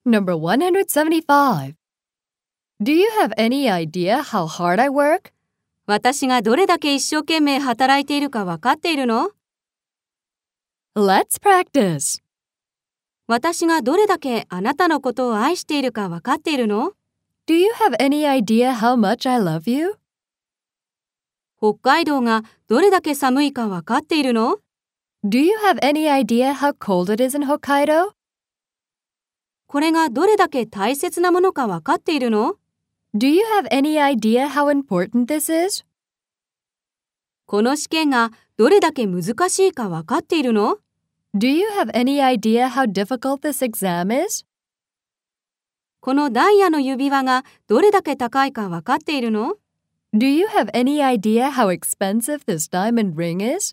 Number 175. Do you have any idea how hard I work? 私がどれだけ一生懸命働いているか分かっているの？ Let's practice. 私がどれだけあなたのことを愛しているか分かっているの？ Do you have any idea how much I love you? 北海道がどれだけ寒いか分かっているの？ Do you have any idea how cold it is in Hokkaido? これがどれだけ大切なものか分かっているの？ Do you have any idea how important this is? この試験がどれだけ難しいか分かっているの？ Do you have any idea how difficult this exam is? このダイヤの指輪がどれだけ高いか分かっているの？ Do you have any idea how expensive this diamond ring is?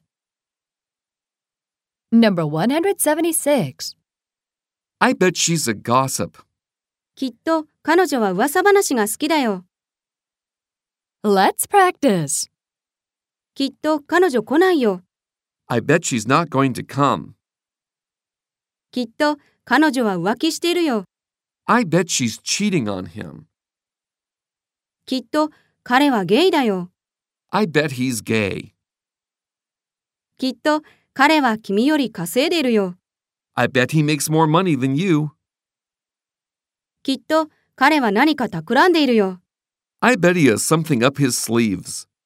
Number 176. I bet she's a gossip. きっと彼女は噂話が好きだよ。 Let's practice. きっと彼女来ないよ。 I bet she's not going to come. きっと彼女は浮気しているよ。 I bet she's cheating on him. きっと彼はゲイだよ。 I bet he's gay. きっと彼は君より稼いでいるよ。 I bet he makes more money than you. きっと彼は何か企んでいるよ。 I bet he has something up his sleeves.